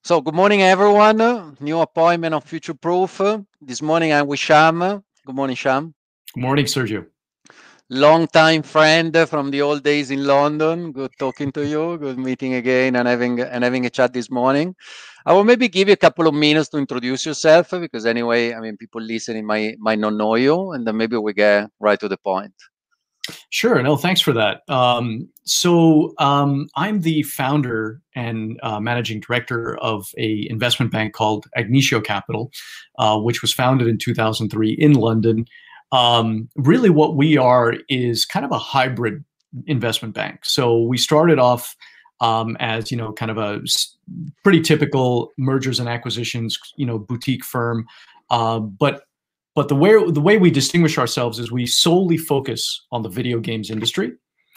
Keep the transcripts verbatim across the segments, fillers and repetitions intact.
So good morning, everyone. New appointment on Future Proof. This morning I'm with Sham. Good morning, Sham. Good morning, Sergio. Long time friend from the old days in London. Good talking to you. Good meeting again and having and having a chat this morning. I will maybe give you a couple of minutes to introduce yourself because anyway, I mean, people listening might might not know you, and then maybe we get right to the point. Sure. No, thanks for that. Um, so um, I'm the founder and uh, managing director of a investment bank called Agnitio Capital, uh, which was founded in two thousand three in London. Um, really, what we are is kind of a hybrid investment bank. So we started off um, as you know, kind of a pretty typical mergers and acquisitions, you know, boutique firm, uh, but But the way the way we distinguish ourselves is we solely focus on the video games industry,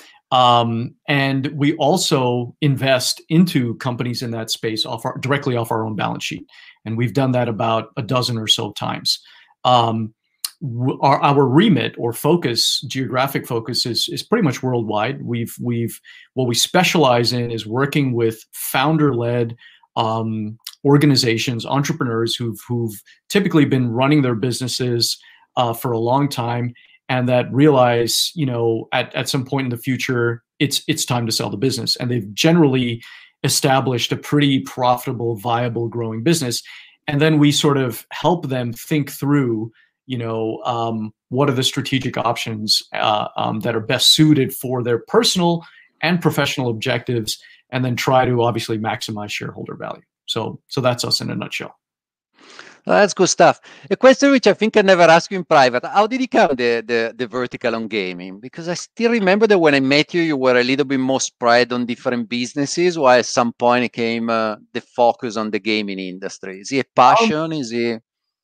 um, and we also invest into companies in that space off our, directly off our own balance sheet, and we've done that about a dozen or so times. Um, our our remit or focus, geographic focus, is is pretty much worldwide. We've we've what we specialize in is working with founder-led um, organizations, entrepreneurs who've who've typically been running their businesses uh, for a long time, and that realize, you know, at at some point in the future, it's it's time to sell the business, and they've generally established a pretty profitable, viable, growing business, and then we sort of help them think through, you know, um, what are the strategic options uh, um, that are best suited for their personal and professional objectives, and then try to obviously maximize shareholder value. So, so that's us in a nutshell. Oh, that's good stuff. A question which I think I never asked you in private: how did you come the, the the vertical on gaming? Because I still remember that when I met you, you were a little bit more spread on different businesses, while at some point it came uh, the focus on the gaming industry. Is it a passion? Um, Is it?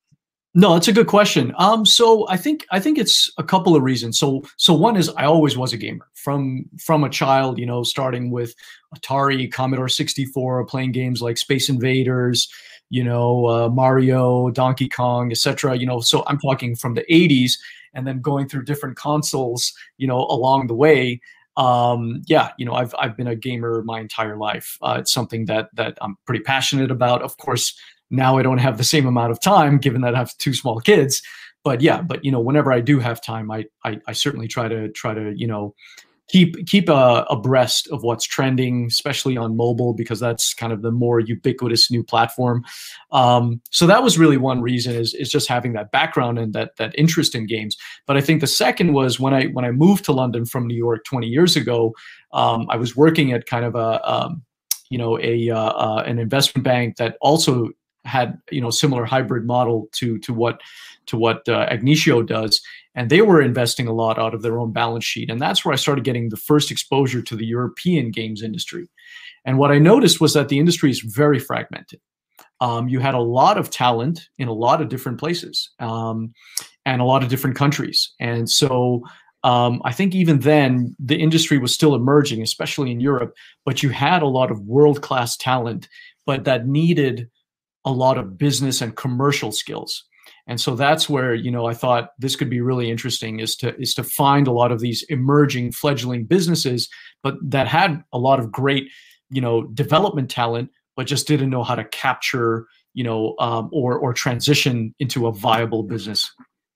No, that's a good question. Um, so I think I think it's a couple of reasons. So so one is I always was a gamer from from a child. You know, starting with Atari, Commodore sixty-four, playing games like Space Invaders, you know, uh, Mario, Donkey Kong, et cetera. You know, so I'm talking from the eighties, and then going through different consoles, you know, along the way. Um, yeah, you know, I've I've been a gamer my entire life. Uh, it's something that that I'm pretty passionate about. Of course, now I don't have the same amount of time, given that I have two small kids. But yeah, but you know, whenever I do have time, I I, I certainly try to try to you know keep keep uh, abreast of what's trending, especially on mobile, because that's kind of the more ubiquitous new platform. Um, so that was really one reason, is is just having that background and that that interest in games. But I think the second was when I when I moved to London from New York twenty years ago. Um, I was working at kind of a um, you know a uh, uh, an investment bank that also had you know similar hybrid model to to what to what uh, Agnitio does, and they were investing a lot out of their own balance sheet, and that's where I started getting the first exposure to the European games industry. And what I noticed was that the industry is very fragmented. Um, you had a lot of talent in a lot of different places, um, and a lot of different countries, and so um, I think even then the industry was still emerging, especially in Europe. But you had a lot of world-class talent, but that needed a lot of business and commercial skills. And so that's where, you know, I thought this could be really interesting, is to is to find a lot of these emerging, fledgling businesses, but that had a lot of great, you know, development talent, but just didn't know how to capture, you know, um, or or transition into a viable business.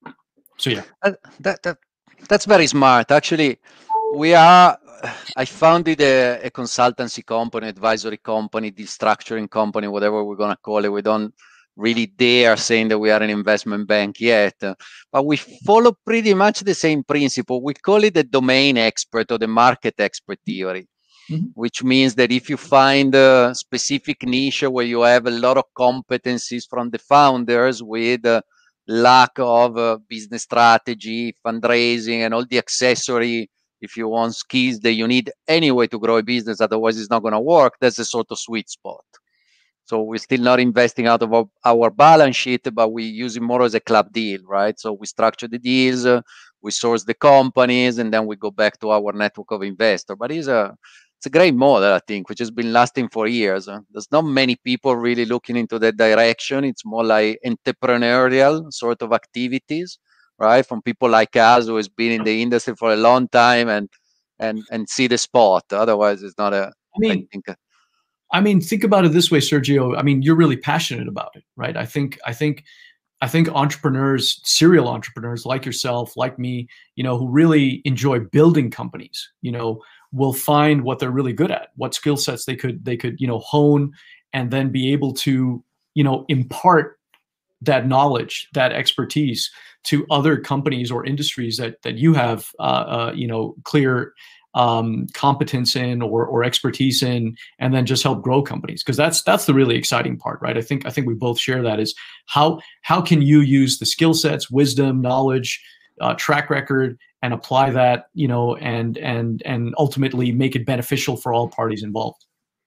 So yeah, Uh, that, that that's very smart. Actually, we are. I founded a, a consultancy company, advisory company, deal structuring company, whatever we're gonna call it. We don't really dare saying that we are an investment bank yet, uh, but we follow pretty much the same principle. We call it the domain expert or the market expert theory, mm-hmm. which means that if you find a specific niche where you have a lot of competencies from the founders with uh, lack of uh, business strategy, fundraising, and all the accessory, if you want, skills that you need anyway to grow a business, otherwise it's not going to work, that's a sort of sweet spot. So we're still not investing out of our, our balance sheet, but we use it more as a club deal, right? So we structure the deals, uh, we source the companies, and then we go back to our network of investors. But it's a it's a great model, I think, which has been lasting for years. Uh, there's not many people really looking into that direction. It's more like entrepreneurial sort of activities, right? From people like us who has been in the industry for a long time and and and see the spot. Otherwise, it's not a. I mean, I think. I mean, think about it this way, Sergio. I mean, you're really passionate about it, right? I think, I think, I think entrepreneurs, serial entrepreneurs like yourself, like me, you know, who really enjoy building companies, you know, will find what they're really good at, what skill sets they could, they could, you know, hone, and then be able to, you know, impart that knowledge, that expertise to other companies or industries that that you have, uh, uh, you know, clear um, competence in or or expertise in, and then just help grow companies. Because that's that's the really exciting part, right? I think I think we both share that, is how how can you use the skill sets, wisdom, knowledge, uh, track record, and apply that, you know, and and and ultimately make it beneficial for all parties involved.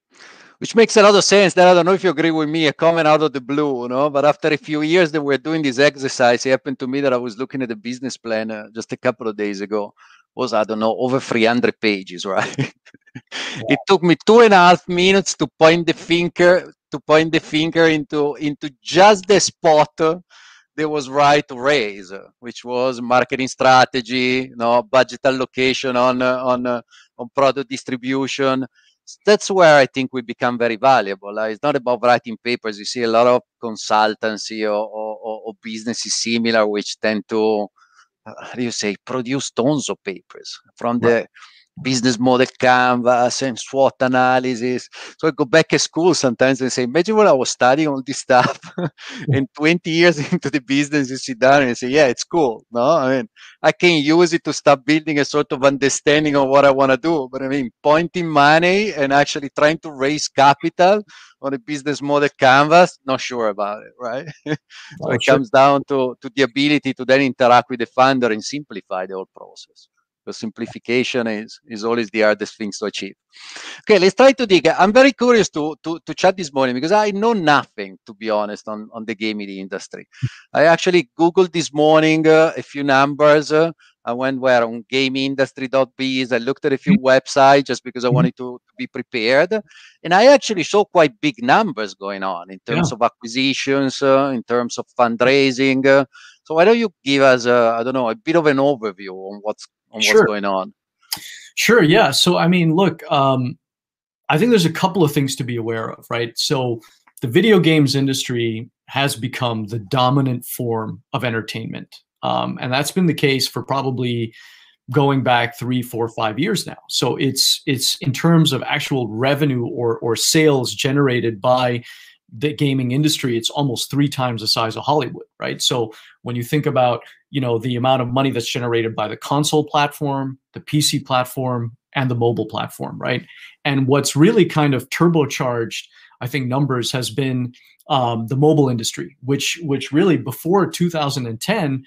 Which makes a lot of sense. That I don't know if you agree with me, a comment out of the blue, you know. But after a few years that we're doing this exercise, it happened to me that I was looking at the business plan uh, just a couple of days ago. It was, I don't know, over three hundred pages, right? Wow. It took me two and a half minutes to point the finger to point the finger into into just the spot uh, that was right to raise, uh, which was marketing strategy, you know, budget allocation on uh, on uh, on product distribution. That's where I think we become very valuable. Uh, it's not about writing papers. You see a lot of consultancy or, or, or businesses similar, which tend to, uh, how do you say, produce tons of papers from the right. business model canvas and SWOT analysis. So I go back to school sometimes and say, imagine when I was studying all this stuff and twenty years into the business, you sit down and say, yeah, it's cool. No, I mean, I can use it to start building a sort of understanding of what I want to do. But I mean, pointing money and actually trying to raise capital on a business model canvas, not sure about it, right? So oh, it sure. comes down to, to the ability to then interact with the funder and simplify the whole process. Because simplification is, is always the hardest things to achieve. Okay, let's try to dig. I'm very curious to, to, to chat this morning because I know nothing, to be honest, on, on the gaming industry. I actually Googled this morning uh, a few numbers. Uh, I went where on gameindustry dot biz. I looked at a few websites just because I wanted to, to be prepared. And I actually saw quite big numbers going on in terms yeah. of acquisitions, uh, in terms of fundraising. Uh, so why don't you give us, uh, I don't know, a bit of an overview on what's on what's sure. going on? Sure. Yeah. So, I mean, look, um, I think there's a couple of things to be aware of, right? So the video games industry has become the dominant form of entertainment. Um, and that's been the case for probably going back three, four, five years now. So it's, it's in terms of actual revenue or, or sales generated by the gaming industry, it's almost three times the size of Hollywood, right? So when you think about, you know, the amount of money that's generated by the console platform, the P C platform, and the mobile platform, right? And what's really kind of turbocharged, I think, numbers has been um, the mobile industry, which which really before two thousand ten,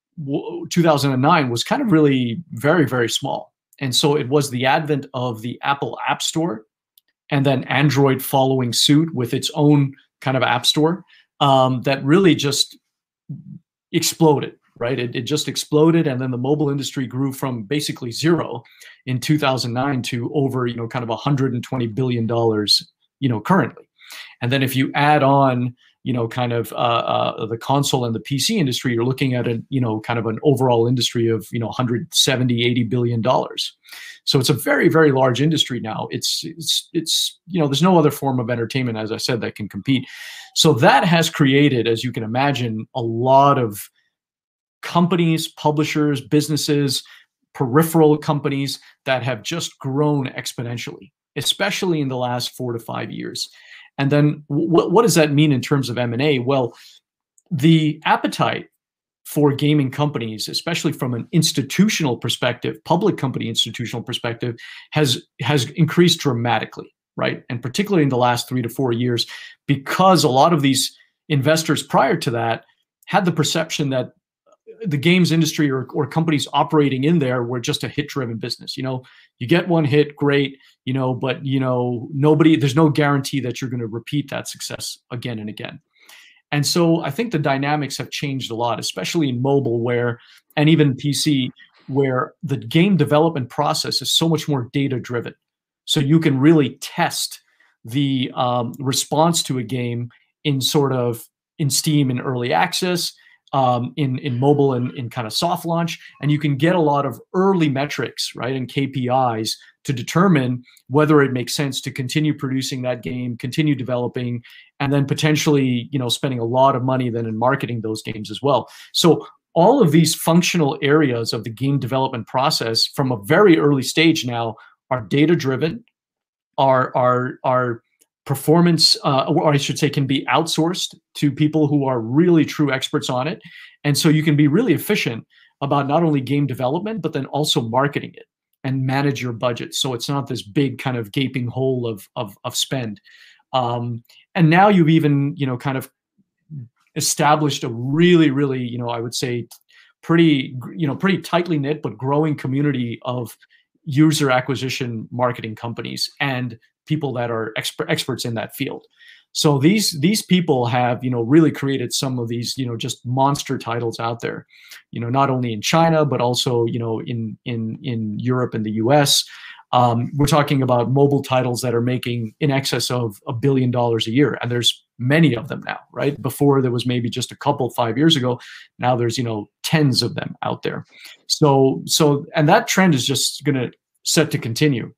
two thousand nine was kind of really very, very small. And so it was the advent of the Apple App Store, and then Android following suit with its own kind of app store, um, that really just exploded, right? It, it just exploded. And then the mobile industry grew from basically zero in two thousand nine to over, you know, kind of one hundred twenty billion dollars, you know, currently. And then if you add on, you know, kind of uh, uh, the console and the P C industry, you're looking at a, you know, kind of an overall industry of, you know, one hundred seventy, eighty billion dollars. So it's a very, very large industry now. It's, it's, it's, you know, there's no other form of entertainment, as I said, that can compete. So that has created, as you can imagine, a lot of companies, publishers, businesses, peripheral companies that have just grown exponentially, especially in the last four to five years. And then what, what does that mean in terms of M and A? Well, the appetite for gaming companies, especially from an institutional perspective, public company institutional perspective, has has increased dramatically, right? And particularly in the last three to four years, because a lot of these investors prior to that had the perception that the games industry or, or companies operating in there were just a hit-driven business. You know, you get one hit, great, you know, but, you know, nobody, there's no guarantee that you're going to repeat that success again and again. And so I think the dynamics have changed a lot, especially in mobile where, and even P C, where the game development process is so much more data-driven. So you can really test the um, response to a game in sort of in Steam in early access, um, in in mobile and in kind of soft launch, and you can get a lot of early metrics, right, and K P Is to determine whether it makes sense to continue producing that game, continue developing, and then potentially, you know, spending a lot of money then in marketing those games as well. So all of these functional areas of the game development process from a very early stage now are data driven, are are are performance, uh, or I should say, can be outsourced to people who are really true experts on it. And so you can be really efficient about not only game development, but then also marketing it and manage your budget. So it's not this big kind of gaping hole of, of, of spend. Um, and now you've even, you know, kind of established a really, really, you know, I would say pretty, you know, pretty tightly knit, but growing community of user acquisition marketing companies and people that are exper experts in that field. So these these people have, you know, really created some of these, you know, just monster titles out there, you know, not only in China, but also, you know, in in in Europe and the U S. Um, we're talking about mobile titles that are making in excess of a billion dollars a year, and there's many of them now, right? Before there was maybe just a couple five years ago. Now there's, you know, tens of them out there. So so and that trend is just going to set to continue.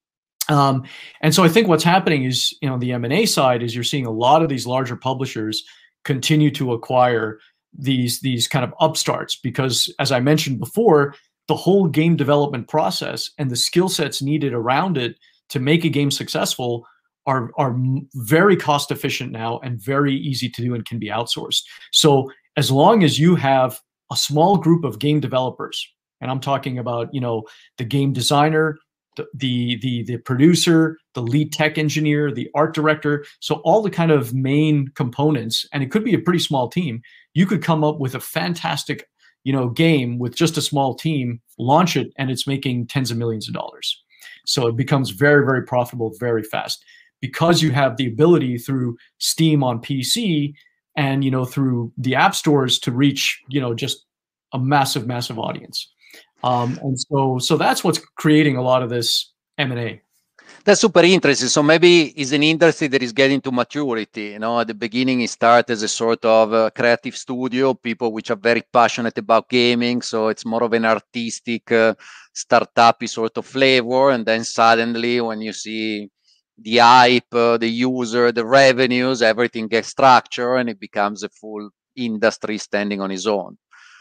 Um, and so I think what's happening is, you know, the M and A side is you're seeing a lot of these larger publishers continue to acquire these these kind of upstarts because, as I mentioned before, the whole game development process and the skill sets needed around it to make a game successful are are very cost efficient now and very easy to do and can be outsourced. So as long as you have a small group of game developers, and I'm talking about, you know, the game designer, the, the the the producer, the lead tech engineer, the art director, so all the kind of main components, and it could be a pretty small team, you could come up with a fantastic, you know, game with just a small team, launch it, and it's making tens of millions of dollars. So it becomes very, very profitable very fast because you have the ability through Steam on P C and, you know, through the app stores to reach, you know, just a massive, massive audience. Um, and so, so that's what's creating a lot of this M and A. That's super interesting. So maybe it's an industry that is getting to maturity. You know, at the beginning, it started as a sort of uh, creative studio, people which are very passionate about gaming. So it's more of an artistic, uh, startup-y sort of flavor. And then suddenly, when you see the hype, uh, the user, the revenues, everything gets structured, and it becomes a full industry standing on its own.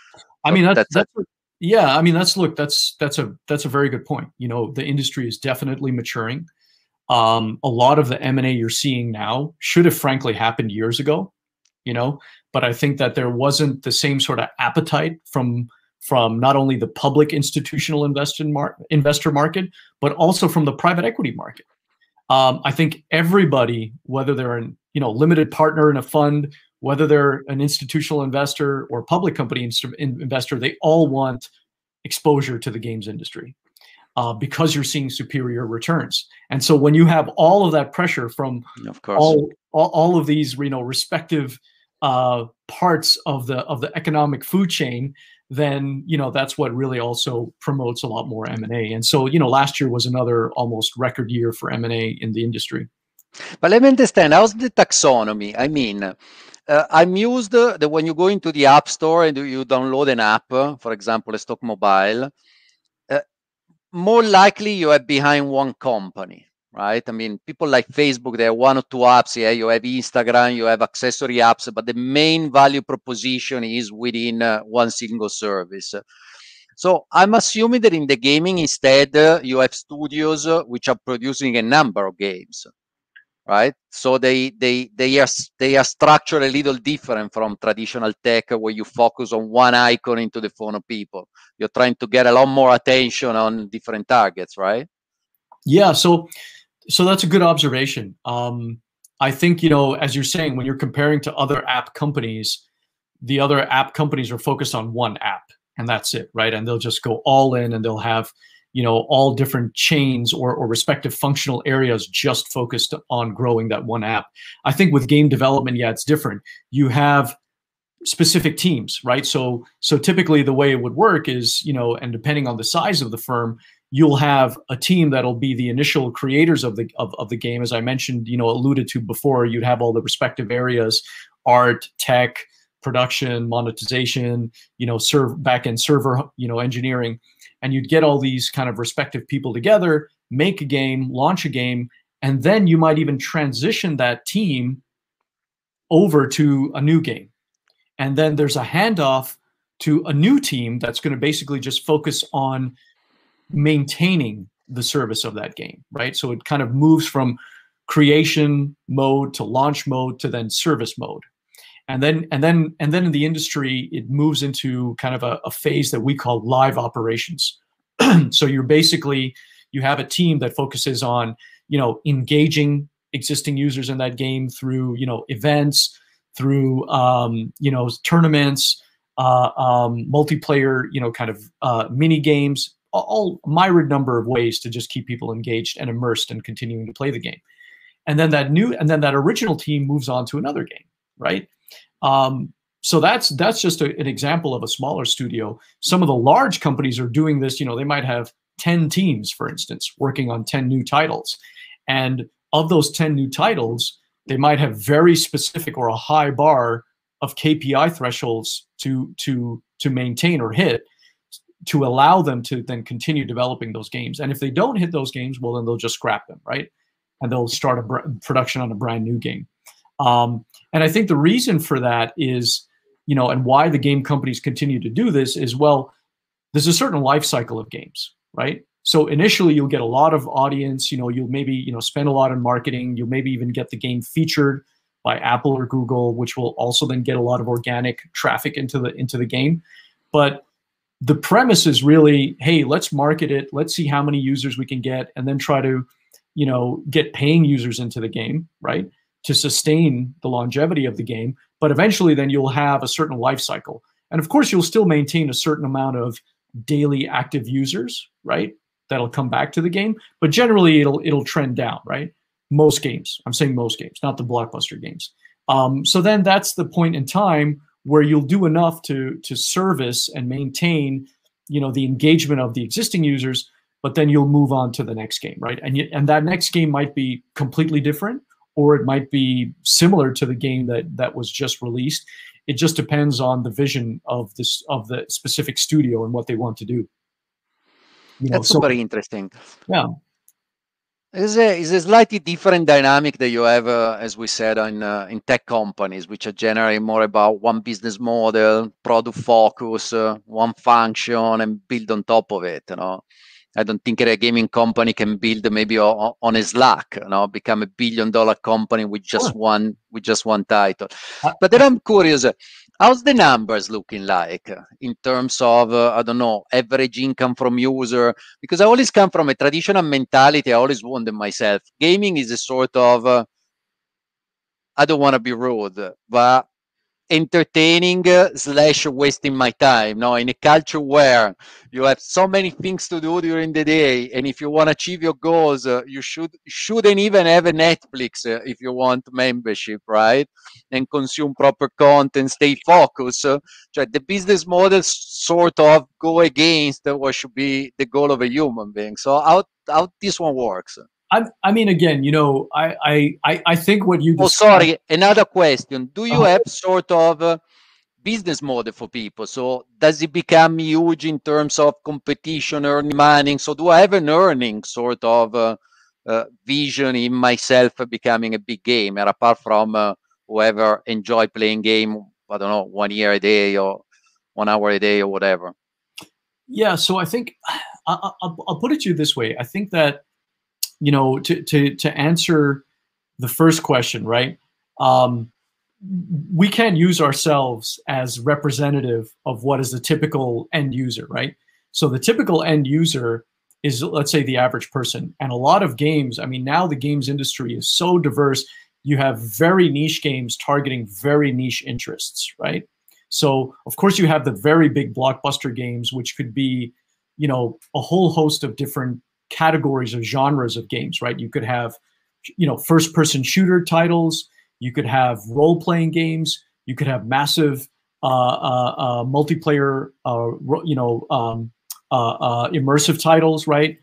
I mean, that's, that's, that's yeah. I mean, that's look. That's that's a that's a very good point. You know, the industry is definitely maturing. Um, a lot of the M and A you're seeing now should have frankly happened years ago. You know, but I think that there wasn't the same sort of appetite from from not only the public institutional investor mar investor market, but also from the private equity market. Um, I think everybody, whether they're an you know limited partner in a fund, whether they're an institutional investor or public company in investor, they all want exposure to the games industry uh, because you're seeing superior returns. And so when you have all of that pressure from of course. all, all all of these you know respective uh, parts of the of the economic food chain, then you know that's what really also promotes a lot more M and A. And so you know last year was another almost record year for M and A in the industry. But let me understand, how's the taxonomy? I mean, uh, I'm used uh, that when you go into the App Store and you download an app, uh, for example, a Stock Mobile, uh, more likely you are behind one company, right? I mean, people like Facebook, there are one or two apps. Yeah, you have Instagram, you have accessory apps, but the main value proposition is within uh, one single service. So I'm assuming that in the gaming, instead, uh, you have studios uh, which are producing a number of games. Right, so they they they are they are structured a little different from traditional tech, where you focus on one icon into the phone of people. You're trying to get a lot more attention on different targets, right? Yeah, so so that's a good observation. Um, I think you know, as you're saying, when you're comparing to other app companies, the other app companies are focused on one app, and that's it, right? And they'll just go all in, and they'll have you know, all different chains or, or respective functional areas just focused on growing that one app. I think with game development, yeah, it's different. You have specific teams, right? So, so typically the way it would work is, you know, and depending on the size of the firm, you'll have a team that'll be the initial creators of the of, of the game. As I mentioned, you know, alluded to before, you'd have all the respective areas, art, tech, production, monetization, you know, serve back-end server, you know, engineering, and you'd get all these kind of respective people together, make a game, launch a game, and then you might even transition that team over to a new game. And then there's a handoff to a new team that's going to basically just focus on maintaining the service of that game, right? So it kind of moves from creation mode to launch mode to then service mode. And then and then and then in the industry, it moves into kind of a, a phase that we call live operations. So you're basically, you have a team that focuses on, you know, engaging existing users in that game through, you know, events, through, um, you know, tournaments, uh, um, multiplayer, you know, kind of uh, mini games, all myriad number of ways to just keep people engaged and immersed and continuing to play the game. And then that new, and then that original team moves on to another game, right? Um, so that's that's just a, an example of a smaller studio. Some of the large companies are doing this. You know, they might have ten teams, for instance, working on ten new titles, and of those ten new titles, they might have very specific or a high bar of K P I thresholds to to to maintain or hit, to allow them to then continue developing those games. And if they don't hit those games, well, then they'll just scrap them, right? And they'll start a br- production on a brand new game. Um, and I think the reason for that is, you know, and why the game companies continue to do this is, well, there's a certain life cycle of games, right? So initially you'll get a lot of audience, you know, you'll maybe, you know, spend a lot on marketing. You'll maybe even get the game featured by Apple or Google, which will also then get a lot of organic traffic into the, into the game. But the premise is really, hey, let's market it. Let's see how many users we can get, and then try to, you know, get paying users into the game, right, to sustain the longevity of the game. But eventually then you'll have a certain life cycle. And of course, you'll still maintain a certain amount of daily active users, right, that'll come back to the game. But generally, it'll it'll trend down, right? Most games. I'm saying most games, not the blockbuster games. Um, so then that's the point in time where you'll do enough to to service and maintain, you know, the engagement of the existing users, but then you'll move on to the next game, right? And you, and that next game might be completely different, or it might be similar to the game that that was just released. It just depends on the vision of this of the specific studio and what they want to do. You know, That's so, very interesting. Yeah. It's a, it's a slightly different dynamic that you have, uh, as we said, in, uh, in tech companies, which are generally more about one business model, product focus, uh, one function, and build on top of it. You know, I don't think a gaming company can build maybe on, on a Slack, you know, become a billion dollar company with just sure. one with just one title. But then I'm curious, how's the numbers looking like in terms of, uh, I don't know, average income from user? Because I always come from a traditional mentality. I always wondered myself, gaming is a sort of, uh, I don't want to be rude, but entertaining uh, slash wasting my time. Now, in a culture where you have so many things to do during the day, and if you want to achieve your goals, uh, you should shouldn't even have a Netflix uh, if you want membership, right? And consume proper content, stay focused. Uh, so the business model sort of go against what should be the goal of a human being. So how how this one works? I, I mean, again, you know, I, I, I think what you. Oh, sorry. Another question. Do you uh, have sort of a business model for people? So does it become huge in terms of competition, earning money? So do I have an earning sort of uh, uh, vision in myself becoming a big gamer, apart from uh, whoever enjoy playing game, I don't know, one year a day or one hour a day or whatever? Yeah. So I think I, I'll, I'll put it to you this way. I think that, you know, to, to, to answer the first question, right? Um, we can't use ourselves as representative of what is the typical end user, right? So the typical end user is, let's say, the average person. And a lot of games, I mean, now the games industry is so diverse. You have very niche games targeting very niche interests, right? So of course you have the very big blockbuster games, which could be, you know, a whole host of different categories of genres of games, right? You could have, you know, first-person shooter titles. You could have role-playing games. You could have massive uh, uh, uh, multiplayer, uh, you know, um, uh, uh, immersive titles, right?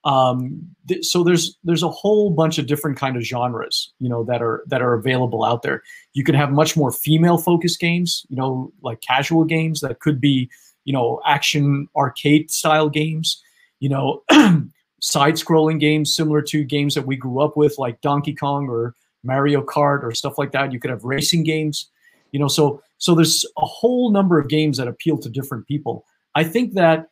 Um, th so there's there's a whole bunch of different kind of genres, you know, that are that are available out there. You can have much more female focused games, you know, like casual games that could be, you know, action arcade style games, you know, side scrolling games similar to games that we grew up with, like Donkey Kong or Mario Kart or stuff like that. You could have racing games, you know, so so there's a whole number of games that appeal to different people. I think that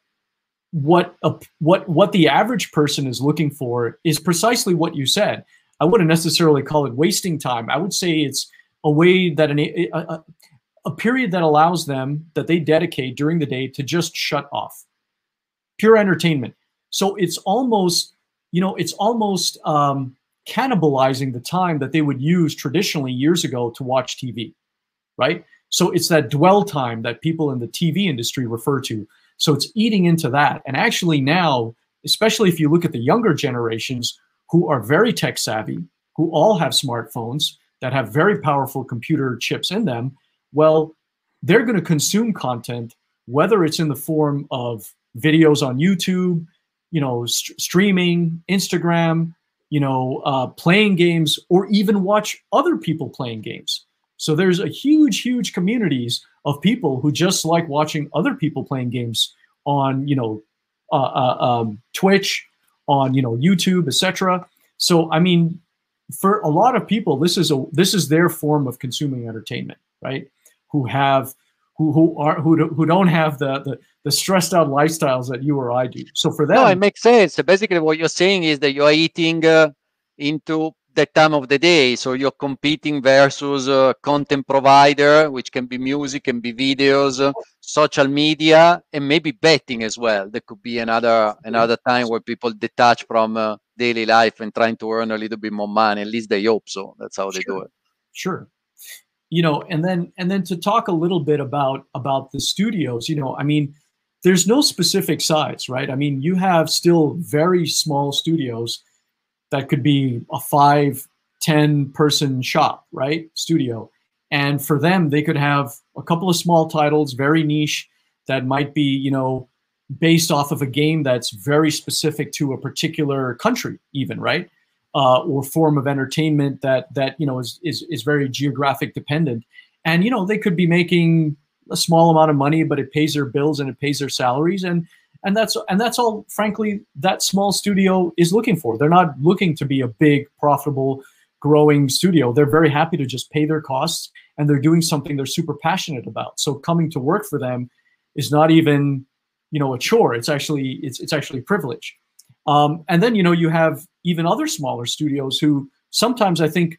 what a, what what the average person is looking for is precisely what you said. I wouldn't necessarily call it wasting time. I would say it's a way that an, a, a, a period that allows them, that they dedicate during the day to just shut off. Pure entertainment. So it's almost, you know, it's almost um, cannibalizing the time that they would use traditionally years ago to watch T V, right? So it's that dwell time that people in the T V industry refer to. So it's eating into that. And actually now, especially if you look at the younger generations who are very tech savvy, who all have smartphones that have very powerful computer chips in them, well, they're going to consume content, whether it's in the form of videos on YouTube, you know, st streaming, Instagram, you know, uh, playing games, or even watch other people playing games. So there's a huge, huge communities of people who just like watching other people playing games on, you know, uh, uh, um, Twitch, on, you know, YouTube, et cetera. So, I mean, for a lot of people, this is a this is their form of consuming entertainment, right? Who have who who are who do, who don't have the, the the stressed out lifestyles that you or I do. So for them, no, it makes sense. Basically, what you're saying is that you are eating uh, into that time of the day. So you're competing versus a content provider, which can be music, can be videos, uh, social media, and maybe betting as well. There could be another another time where people detach from uh, daily life and trying to earn a little bit more money. At least they hope so. That's how they sure, do it. Sure. You know, and then and then to talk a little bit about about the studios, you know, I mean, there's no specific size, right? I mean, you have still very small studios that could be a five, ten person shop, right? Studio. And for them, they could have a couple of small titles, very niche, that might be, you know, based off of a game that's very specific to a particular country, even, right? Uh, or form of entertainment that that you know is is is very geographic dependent. And you know, they could be making a small amount of money, but it pays their bills and it pays their salaries, and and that's and that's all, frankly, that small studio is looking for. They're not looking to be a big, profitable, growing studio. They're very happy to just pay their costs, and they're doing something they're super passionate about. So coming to work for them is not even, you know, a chore. It's actually it's it's actually a privilege. Um, and then, you know, you have even other smaller studios who sometimes, I think,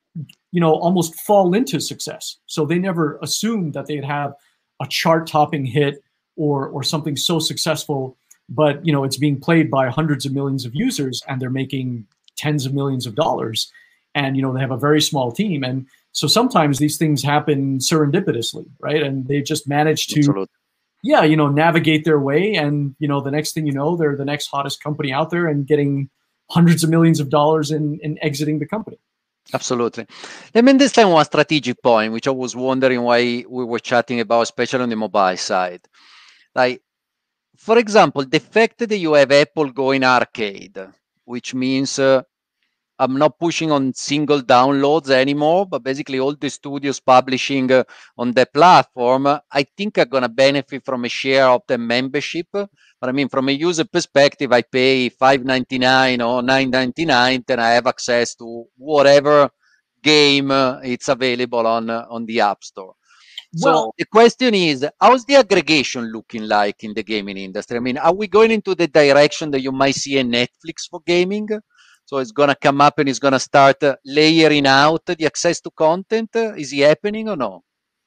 you know, almost fall into success. So they never assumed that they'd have a chart-topping hit or or something so successful, but, you know, it's being played by hundreds of millions of users, and they're making tens of millions of dollars. And, you know, they have a very small team. And so sometimes these things happen serendipitously, right? And they just manage to, Absolutely. yeah, you know, navigate their way. And, you know, the next thing you know, they're the next hottest company out there and getting hundreds of millions of dollars in, in exiting the company. Absolutely. Let me understand one strategic point, which I was wondering why we were chatting about, especially on the mobile side. Like, for example, the fact that you have Apple going arcade, which means uh, I'm not pushing on single downloads anymore, but basically all the studios publishing uh, on the platform, uh, I think are going to benefit from a share of the membership. But I mean, from a user perspective, I pay five ninety-nine or nine ninety-nine, then I have access to whatever game uh, it's available on, uh, on the App Store. So well, the question is, how's the aggregation looking like in the gaming industry? I mean, are we going into the direction that you might see a Netflix for gaming? So it's going to come up and it's going to start uh, layering out the access to content. Uh, is it happening or no?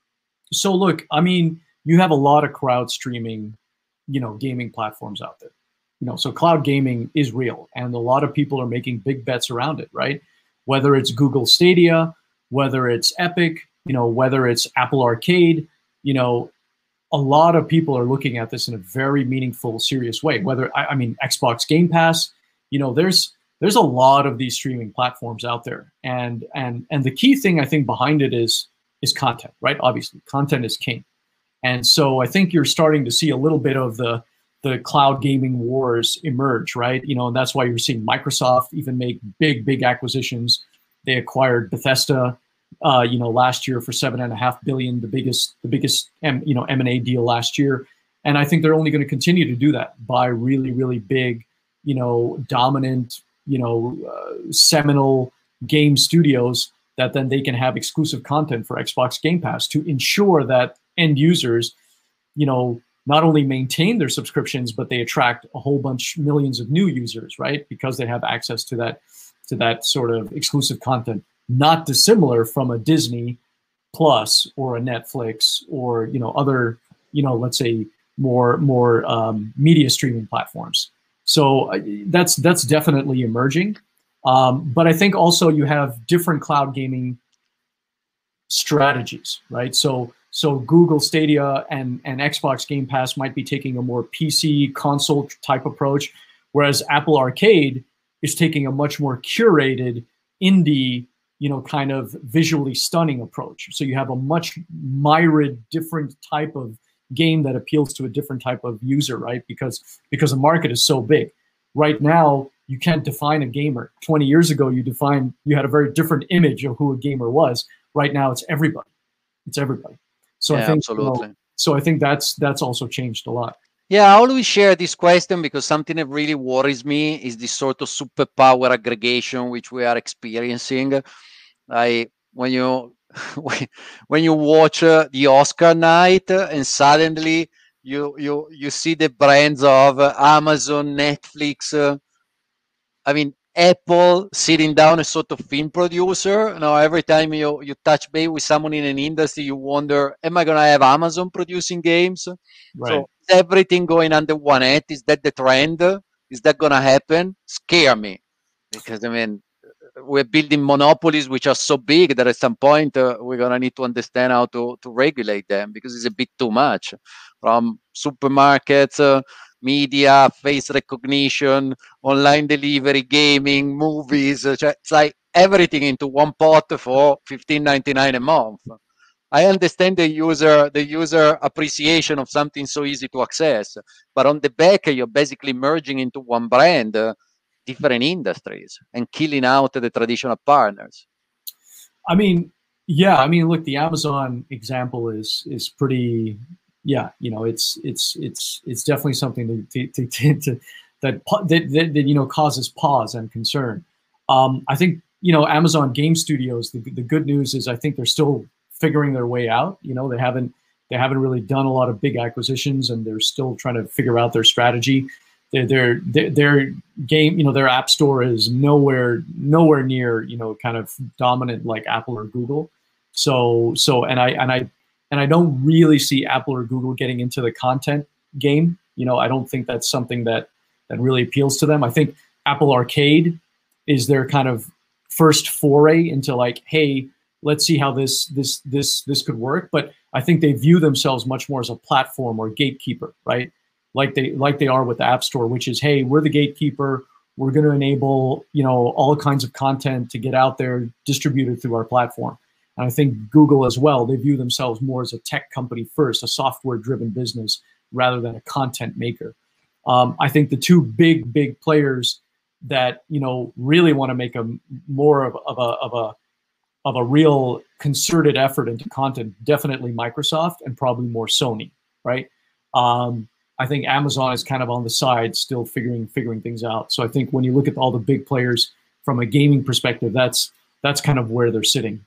So look, I mean, you have a lot of crowd streaming, you know, gaming platforms out there. You know, so cloud gaming is real, and a lot of people are making big bets around it, right? Whether it's Google Stadia, whether it's Epic, you know, whether it's Apple Arcade, you know, a lot of people are looking at this in a very meaningful, serious way. Whether, I, I mean, Xbox Game Pass, you know, there's there's a lot of these streaming platforms out there, and and and the key thing I think behind it is is content, right? Obviously, content is king, and so I think you're starting to see a little bit of the the cloud gaming wars emerge, right? You know, and that's why you're seeing Microsoft even make big, big acquisitions. They acquired Bethesda, uh, you know, last year for seven and a half billion, the biggest, the biggest, M, you know, M and A deal last year. And I think they're only going to continue to do that, buy really, really big, you know, dominant, you know, uh, seminal game studios that then they can have exclusive content for Xbox Game Pass to ensure that end users, you know, not only maintain their subscriptions, but they attract a whole bunch, millions of new users, right? Because they have access to that, to that sort of exclusive content, not dissimilar from a Disney Plus or a Netflix or, you know, other, you know, let's say more, more um, media streaming platforms. So uh, that's, that's definitely emerging. Um, but I think also you have different cloud gaming strategies, right? So, So Google Stadia and, and Xbox Game Pass might be taking a more P C console type approach, whereas Apple Arcade is taking a much more curated indie, you know, kind of visually stunning approach. So you have a much myriad different type of game that appeals to a different type of user, right? Because, because the market is so big. Right now, you can't define a gamer. twenty years ago, you defined, you had a very different image of who a gamer was. Right now, it's everybody. It's everybody. So yeah, I think, absolutely. You know, so I think that's that's also changed a lot. Yeah, I always share this question because something that really worries me is this sort of superpower aggregation which we are experiencing. I when you when you watch uh, the Oscar night uh, and suddenly you you you see the brands of uh, Amazon, Netflix. Uh, I mean, Apple sitting down a sort of film producer. You know, every time you, you touch base with someone in an industry, you wonder, am I going to have Amazon producing games? Right. So is everything going under one hat? Is that the trend? Is that going to happen? Scare me. Because, I mean, we're building monopolies which are so big that at some point uh, we're going to need to understand how to, to regulate them because it's a bit too much. From supermarkets, uh, media, face recognition, online delivery, gaming, movies. Uh, it's like everything into one pot for fifteen ninety-nine a month. I understand the user the user appreciation of something so easy to access, but on the back you're basically merging into one brand uh, different industries and killing out the traditional partners. I mean, yeah, I mean, look, the Amazon example is is pretty. Yeah, you know, it's it's it's it's definitely something to, to, to, to that, that, that that you know causes pause and concern. Um, I think you know Amazon Game Studios. The the good news is I think they're still figuring their way out. You know, they haven't they haven't really done a lot of big acquisitions, and they're still trying to figure out their strategy. Their their their, their game, you know, their app store is nowhere nowhere near you know kind of dominant like Apple or Google. So so and I and I. And I don't really see Apple or Google getting into the content game. You know, I don't think that's something that that really appeals to them. I think Apple Arcade is their kind of first foray into like, hey, let's see how this this this this could work. But I think they view themselves much more as a platform or gatekeeper, right? Like they like they are with the App Store, which is, hey, we're the gatekeeper. We're going to enable you know all kinds of content to get out there, distributed through our platform. And I think Google as well, they view themselves more as a tech company first, a software-driven business, rather than a content maker. Um, I think the two big, big players that you know really want to make a more of, of a of a of a real concerted effort into content, definitely Microsoft and probably more Sony, right? Um, I think Amazon is kind of on the side, still figuring figuring things out. So I think when you look at all the big players from a gaming perspective, that's that's kind of where they're sitting.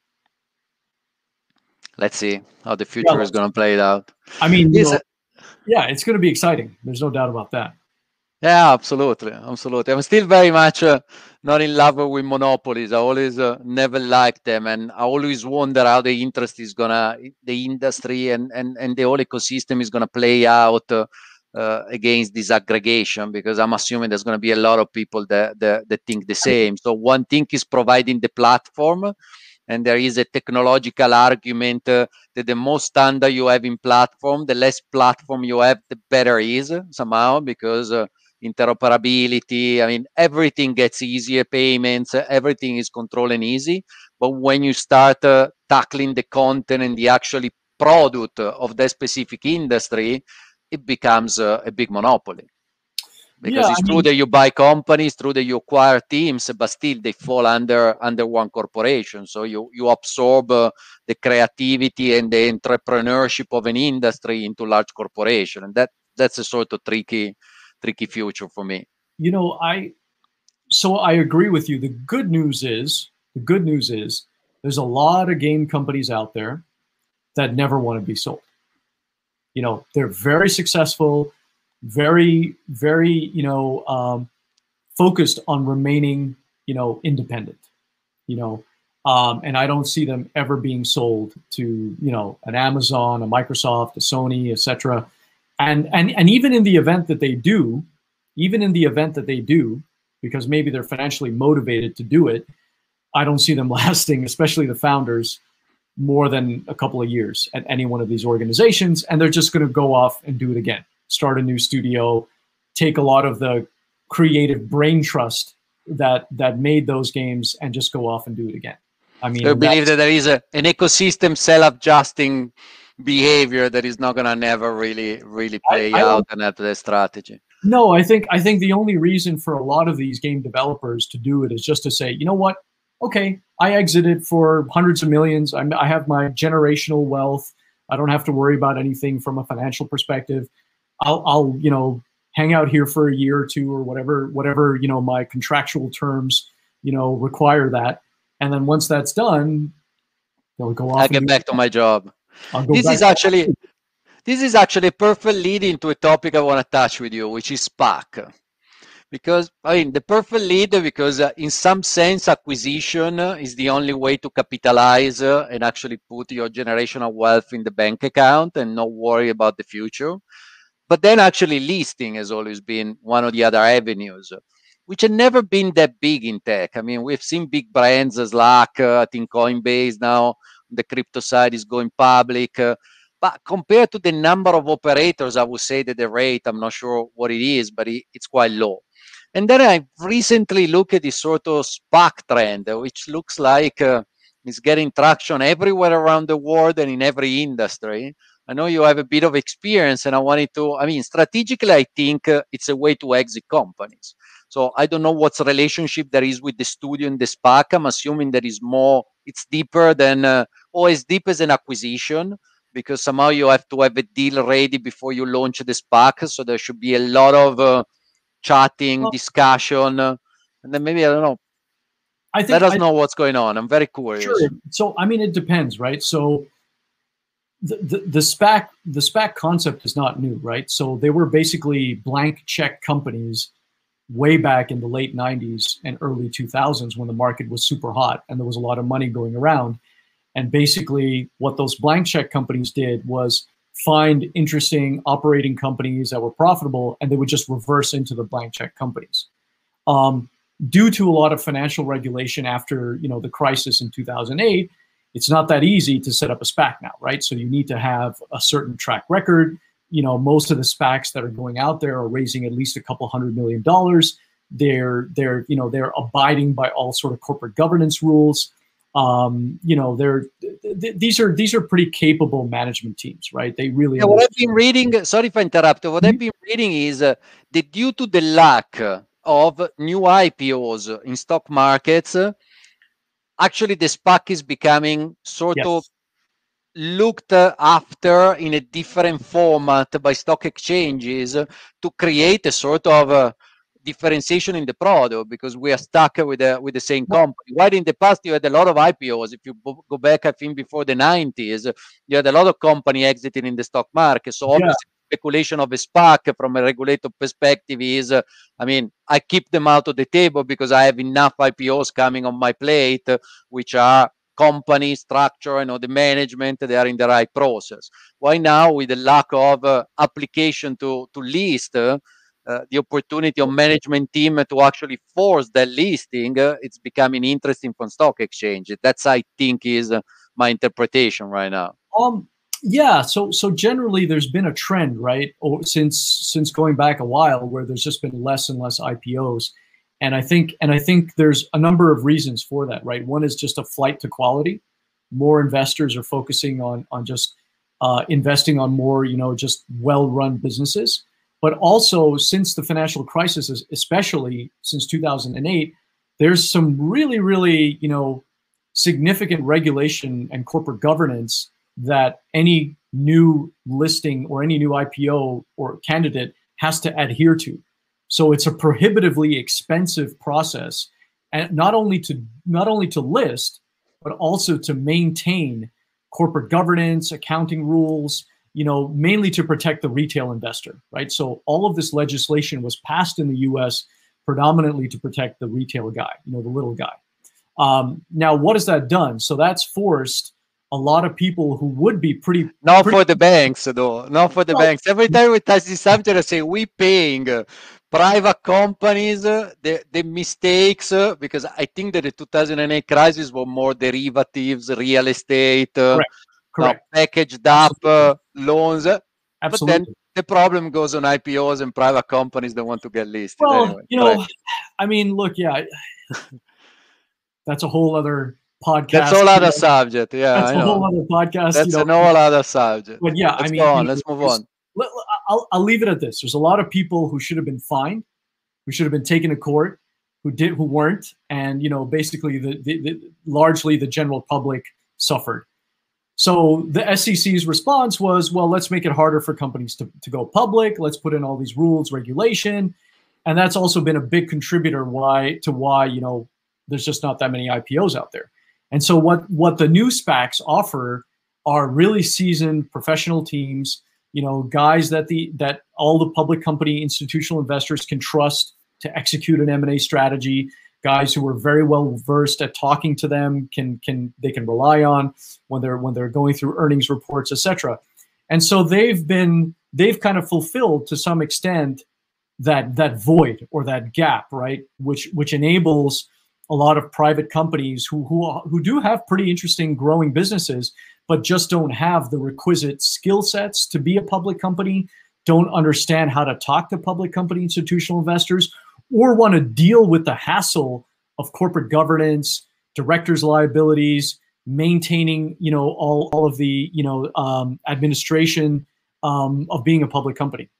Let's see how the future yeah, is going to play it out. I mean, you know, yeah, it's going to be exciting. There's no doubt about that. Yeah, absolutely, absolutely. I'm still very much uh, not in love with monopolies. I always uh, never liked them, and I always wonder how the interest is gonna, the industry and and and the whole ecosystem is gonna play out uh, uh, against this aggregation. Because I'm assuming there's gonna be a lot of people that that, that think the same. So one thing is providing the platform. And there is a technological argument uh, that the more standard you have in platform, the less platform you have, the better it is somehow, because uh, interoperability, I mean, everything gets easier, payments, uh, everything is controlled and easy. But when you start uh, tackling the content and the actually product of that specific industry, it becomes a, a big monopoly. Because Yeah, it's I true mean, that you buy companies, true that you acquire teams, but still they fall under under one corporation. So you you absorb uh, the creativity and the entrepreneurship of an industry into large corporation, and that that's a sort of tricky tricky future for me. you know, I so I agree with you. The good news is the good news is there's a lot of game companies out there that never want to be sold. You know, they're very successful, very, very, you know, um, focused on remaining, you know, independent, you know, um, and I don't see them ever being sold to, you know, an Amazon, a Microsoft, a Sony, et cetera. And, and, and even in the event that they do, even in the event that they do, because maybe they're financially motivated to do it, I don't see them lasting, especially the founders, more than a couple of years at any one of these organizations, and they're just going to go off and do it again, start a new studio, take a lot of the creative brain trust that that made those games and just go off and do it again. I mean, I believe that there is a, an ecosystem self-adjusting behavior that is not going to never really really play I, I out and have the strategy. No, I think I think the only reason for a lot of these game developers to do it is just to say, you know what? Okay, I exited for hundreds of millions. I'm, I have my generational wealth. I don't have to worry about anything from a financial perspective. I'll, I'll, you know, hang out here for a year or two or whatever, whatever, you know, my contractual terms, you know, require that. And then once that's done, they'll go off. I get back to my job. This is actually, this is actually a perfect lead into a topic I want to touch with you, which is SPAC. Because, I mean, the perfect lead, because uh, in some sense, acquisition uh, is the only way to capitalize uh, and actually put your generational wealth in the bank account and not worry about the future. But then actually listing has always been one of the other avenues, which have never been that big in tech. I mean, we've seen big brands as Slack, uh, I think Coinbase now, the crypto side is going public. Uh, but compared to the number of operators, I would say that the rate, I'm not sure what it is, but it, it's quite low. And then I recently looked at this sort of SPAC trend, which looks like uh, it's getting traction everywhere around the world and in every industry. I know you have a bit of experience, and I wanted to, I mean, strategically, I think uh, it's a way to exit companies. So I don't know what's the relationship there is with the studio and the SPAC. I'm assuming there is more, it's deeper than, uh, or as deep as an acquisition, because somehow you have to have a deal ready before you launch the SPAC. So there should be a lot of uh, chatting, discussion, uh, and then maybe, I don't know, I think let us I, know what's going on. I'm very curious. Sure. So, I mean, it depends, right? So the, the, the SPAC, the SPAC concept is not new, right? So they were basically blank check companies way back in the late nineties and early two thousands when the market was super hot and there was a lot of money going around. And basically what those blank check companies did was find interesting operating companies that were profitable, and they would just reverse into the blank check companies. Um, due to a lot of financial regulation after, you know, the crisis in two thousand eight, it's not that easy to set up a SPAC now, right? So you need to have a certain track record. You know, most of the SPACs that are going out there are raising at least a couple hundred million dollars. They're, they're, you know, they're abiding by all sort of corporate governance rules. Um, you know, they're th these are these are pretty capable management teams, right? They really. Yeah, what I've been reading, sorry if I interrupt. What mm-hmm. I've been reading is uh, that due to the lack of new I P Os in stock markets, uh, actually the SPAC is becoming sort yes. of looked after in a different format by stock exchanges to create a sort of uh, differentiation in the product, because we are stuck with the, with the same company. While in the past you had a lot of I P Os. If you go back, I think before the nineties, you had a lot of company exiting in the stock market. So obviously yeah. speculation of a SPAC from a regulator perspective is, uh, I mean, I keep them out of the table because I have enough I P Os coming on my plate, uh, which are company structure, you know, the management, they are in the right process. Why now, with the lack of uh, application to, to list, uh, uh, the opportunity of management team to actually force that listing, uh, it's becoming interesting from stock exchange. That's, I think, is uh, my interpretation right now. Um, yeah, so so generally there's been a trend, right, or since since going back a while, where there's just been less and less I P Os. And I think and I think there's a number of reasons for that, right? One is just a flight to quality. More investors are focusing on on just uh, investing on more, you know, just well-run businesses. But also, since the financial crisis, especially since two thousand eight, there's some really, really, you know, significant regulation and corporate governance that any new listing or any new I P O or candidate has to adhere to. So it's a prohibitively expensive process, and not only to not only to list, but also to maintain corporate governance, accounting rules, you know, mainly to protect the retail investor, right? So all of this legislation was passed in the U S predominantly to protect the retail guy, you know, the little guy. Um, now, what has that done? So that's forced a lot of people who would be pretty... Not pretty for the banks, though. Not for the well, banks. Every time we touch this subject, I say, we paying uh, private companies, uh, the, the mistakes, uh, because I think that the two thousand eight crisis were more derivatives, real estate, uh, correct, correct. Uh, packaged up uh, loans. Absolutely. But then the problem goes on I P Os and private companies that want to get listed. Well, anyway, you know, right. I mean, look, yeah, that's a whole other podcast. That's a whole other subject. Yeah, that's I a know. whole other podcast. That's you know. a whole other subject. But yeah, let's I mean, go on. You let's know, move on. Let, I'll I'll leave it at this. There's a lot of people who should have been fined, who should have been taken to court, who did, who weren't, and you know, basically, the, the, the largely the general public suffered. So the S E C's response was, well, let's make it harder for companies to, to go public. Let's put in all these rules, regulation. And that's also been a big contributor why to why, you know, there's just not that many I P Os out there. And so what, what the new SPACs offer are really seasoned professional teams, you know, guys that the that all the public company institutional investors can trust to execute an M and A strategy. Guys who are very well versed at talking to them, can can they can rely on when they're when they're going through earnings reports, et cetera. And so they've been they've kind of fulfilled to some extent that that void or that gap, right? Which which enables a lot of private companies who who who do have pretty interesting growing businesses, but just don't have the requisite skill sets to be a public company, don't understand how to talk to public company institutional investors, or want to deal with the hassle of corporate governance, directors' liabilities, maintaining, you know, all, all of the, you know, um, administration um, of being a public company.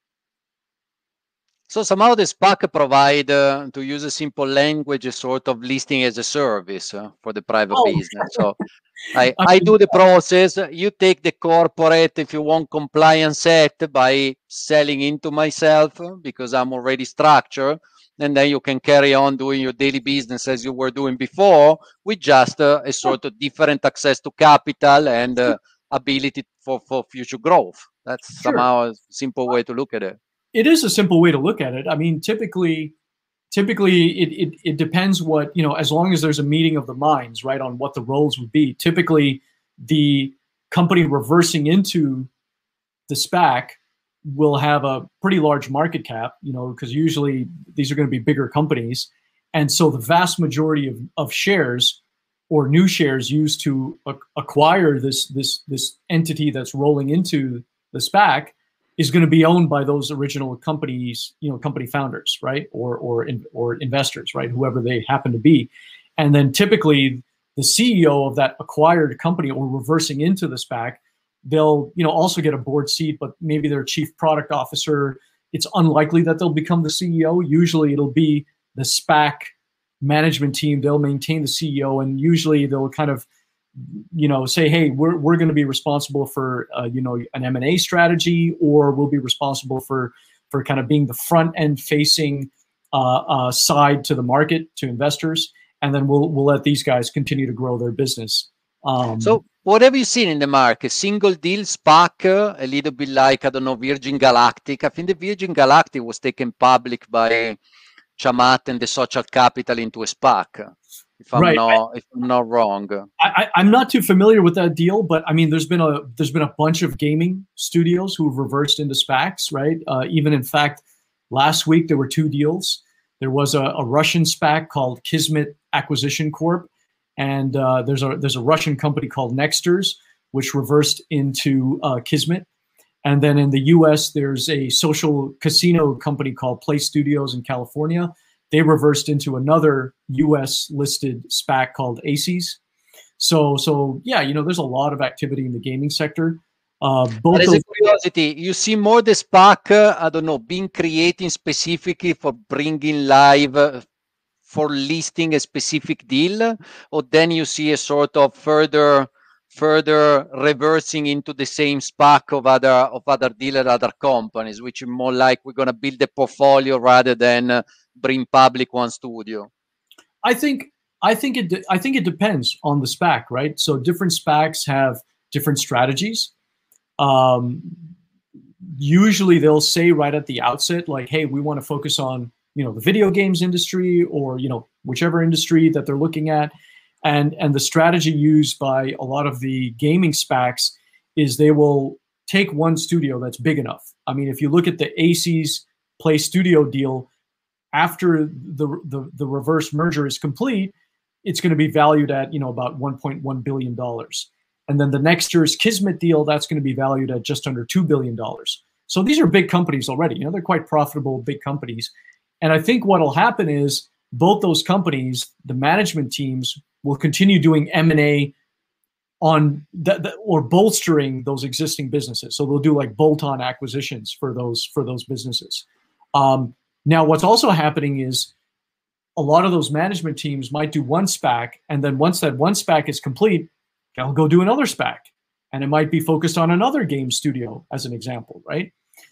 So somehow the SPAC provide, uh, to use a simple language, a sort of listing as a service uh, for the private Oh. business. So I, I do the process. You take the corporate, if you want, compliance act by selling into myself because I'm already structured. And then you can carry on doing your daily business as you were doing before with just uh, a sort of different access to capital and uh, ability for, for future growth. That's Sure. somehow a simple way to look at it. It is a simple way to look at it. I mean, typically, typically it, it, it depends what, you know, as long as there's a meeting of the minds, right, on what the roles would be. Typically, the company reversing into the SPAC will have a pretty large market cap, you know, because usually these are going to be bigger companies. And so the vast majority of, of shares or new shares used to a- acquire this, this, this entity that's rolling into the SPAC is going to be owned by those original companies, you know, company founders, right? Or, or, in, or investors, right? Whoever they happen to be. And then typically the C E O of that acquired company or reversing into the SPAC, they'll, you know, also get a board seat, but maybe their chief product officer, it's unlikely that they'll become the C E O. Usually it'll be the SPAC management team. They'll maintain the C E O, and usually they'll kind of, you know, say, hey, we're, we're going to be responsible for, uh, you know, an M and A strategy, or we'll be responsible for, for kind of being the front end facing uh, uh, side to the market, to investors. And then we'll, we'll let these guys continue to grow their business. Um, so what have you seen in the market? Single deal SPAC, uh, a little bit like, I don't know, Virgin Galactic. I think the Virgin Galactic was taken public by Chamath and the Social Capital into a SPAC. If I'm right. not, if I'm not wrong, I, I, I'm not too familiar with that deal, but I mean, there's been a there's been a bunch of gaming studios who have reversed into SPACs, right? Uh, even in fact, last week there were two deals. There was a, a Russian SPAC called Kismet Acquisition Corp, and uh, there's a there's a Russian company called Nexters, which reversed into uh, Kismet. And then in the U S, there's a social casino company called Play Studios in California. They reversed into another U S listed SPAC called A C E S. So, so yeah, you know, there's a lot of activity in the gaming sector. Uh, both As those a curiosity, you see more the SPAC, uh, I don't know, being created specifically for bringing live, uh, for listing a specific deal, or then you see a sort of further further reversing into the same SPAC of other of other dealer, other companies, which is more like we're going to build a portfolio rather than uh, bring public one studio? I think I think it I think it depends on the SPAC, right? So different SPACs have different strategies. Um, usually they'll say right at the outset, like, hey, we want to focus on, you know, the video games industry, or, you know, whichever industry that they're looking at. And, and the strategy used by a lot of the gaming SPACs is they will take one studio that's big enough. I mean, if you look at the A C's Play Studio deal, after the, the, the reverse merger is complete, it's going to be valued at, you know, about one point one billion dollars. And then the next year's Kismet deal, that's going to be valued at just under two billion dollars. So these are big companies already. You know, they're quite profitable, big companies. And I think what will happen is both those companies, the management teams, will continue doing M and A on that, that, or bolstering those existing businesses. So they'll do like bolt-on acquisitions for those for those businesses. Um, now, what's also happening is a lot of those management teams might do one SPAC, and then once that one SPAC is complete, they'll go do another SPAC, and it might be focused on another game studio, as an example, right?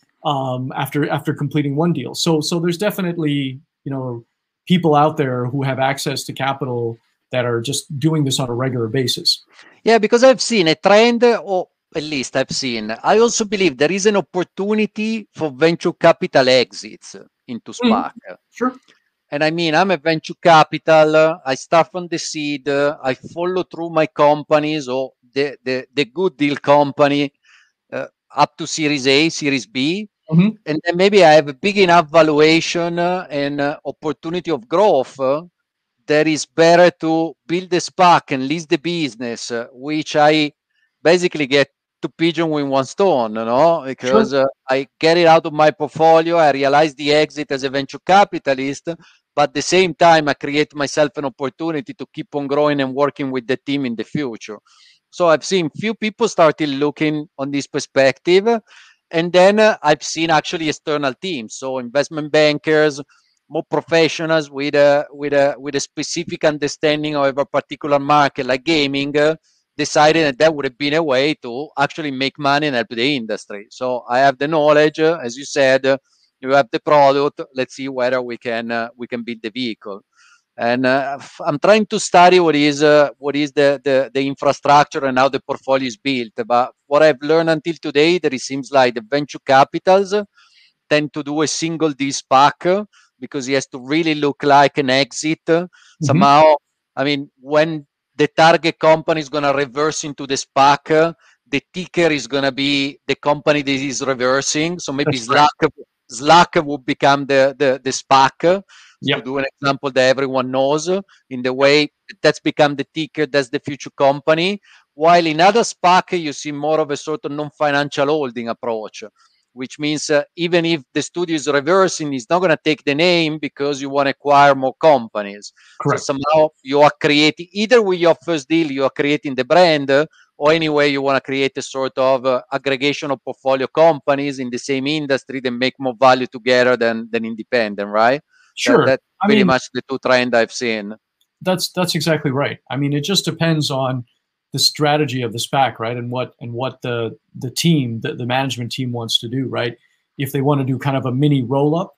Um, after after completing one deal. So so there's definitely, you know, people out there who have access to capital that are just doing this on a regular basis. Yeah, because I've seen a trend, or at least I've seen. I also believe there is an opportunity for venture capital exits into SPAC. Mm-hmm. Sure. And I mean, I'm a venture capital. Uh, I start from the seed. Uh, I follow through my companies, or the the, the good deal company, uh, up to Series A, Series B. Mm-hmm. And then maybe I have a big enough valuation uh, and uh, opportunity of growth uh, that is better to build a SPAC and list the business, uh, which I basically get to pigeon with one stone, you know, because Sure. uh, I get it out of my portfolio. I realize the exit as a venture capitalist, but at the same time, I create myself an opportunity to keep on growing and working with the team in the future. So I've seen few people started looking on this perspective. And then uh, I've seen actually external teams, so investment bankers, more professionals with a with a with a specific understanding of a particular market like gaming, uh, decided that that would have been a way to actually make money and help the industry. So I have the knowledge, uh, as you said, uh, you have the product. Let's see whether we can uh, we can build the vehicle. And uh, I'm trying to study what is uh, what is the, the the infrastructure and how the portfolio is built. But what I've learned until today, that it seems like the venture capitals tend to do a single deal SPAC because it has to really look like an exit. Mm-hmm. Somehow, I mean, when the target company is going to reverse into the SPAC, the ticker is going to be the company that is reversing. So maybe That's Slack right. Slack would become the the, the SPAC. Yep. To do an example that everyone knows, in the way that's become the ticker, that's the future company. While in other SPAC, you see more of a sort of non-financial holding approach, which means uh, even if the studio is reversing, it's not going to take the name because you want to acquire more companies. Correct. So somehow you are creating, either with your first deal, you are creating the brand, uh, or anyway, you want to create a sort of uh, aggregation of portfolio companies in the same industry that make more value together than, than independent, right? Sure. That, that's I pretty mean, much the two trends I've seen. That's that's exactly right. I mean, it just depends on the strategy of the SPAC, right? And what and what the the team, the, the management team wants to do, right? If they want to do kind of a mini roll up,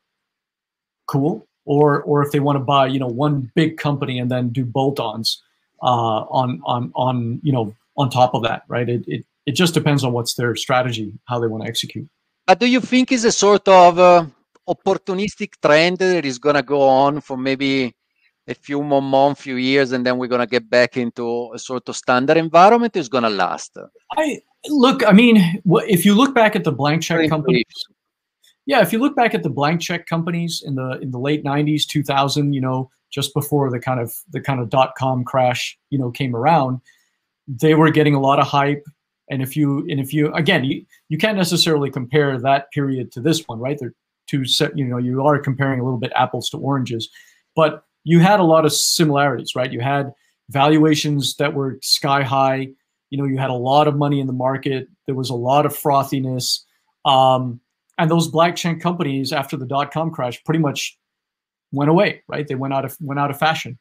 cool. Or or if they want to buy, you know, one big company and then do bolt-ons uh, on on on you know on top of that, right? It it it just depends on what's their strategy, how they want to execute. But do you think it's a sort of uh, opportunistic trend that is going to go on for maybe a few more months, few years, and then we're going to get back into a sort of standard environment? Is going to last? I look. I mean, if you look back at the blank check companies, yeah, if you look back at the blank check companies in the in the late nineties, two thousand, you know, just before the kind of the kind of dot com crash, you know, came around, they were getting a lot of hype. And if you and if you again, you, you can't necessarily compare that period to this one, right? They're two set. You know, you are comparing a little bit apples to oranges, but you had a lot of similarities, right? You had valuations that were sky high. You know, you had a lot of money in the market. There was a lot of frothiness. Um, and those blockchain companies, after the dot-com crash, pretty much went away, right? They went out of went out of fashion.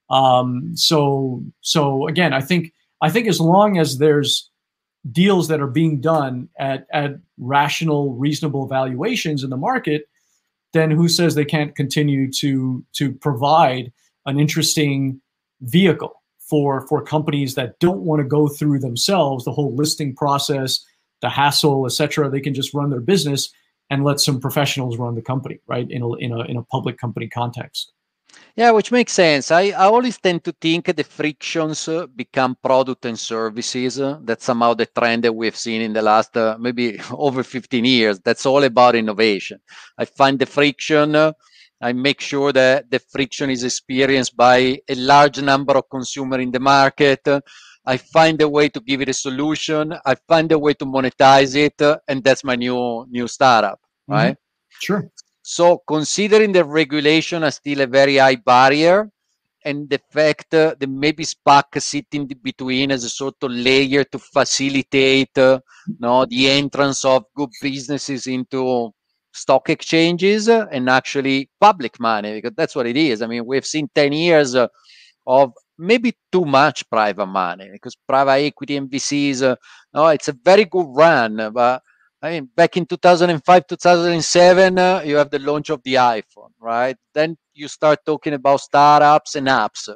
Um, so so again, I think I think as long as there's deals that are being done at at rational, reasonable valuations in the market, then who says they can't continue to to provide an interesting vehicle for for companies that don't want to go through themselves the whole listing process, the hassle, et cetera. They can just run their business and let some professionals run the company, right? In a in a in a public company context. Yeah, which makes sense. I, I always tend to think the frictions uh, become product and services. Uh, that's somehow the trend that we've seen in the last uh, maybe over fifteen years. That's all about innovation. I find the friction. Uh, I make sure that the friction is experienced by a large number of consumers in the market. Uh, I find a way to give it a solution. I find a way to monetize it, uh, and that's my new new startup, right? Mm-hmm. Sure. So considering the regulation is still a very high barrier, and the fact uh, that maybe SPAC sitting between as a sort of layer to facilitate uh, no, the entrance of good businesses into stock exchanges uh, and actually public money, because that's what it is. I mean, we've seen ten years uh, of maybe too much private money, because private equity and V Cs, uh, no, it's a very good run, but I mean, back in two thousand five, two thousand seven, uh, you have the launch of the iPhone, right? Then you start talking about startups and apps.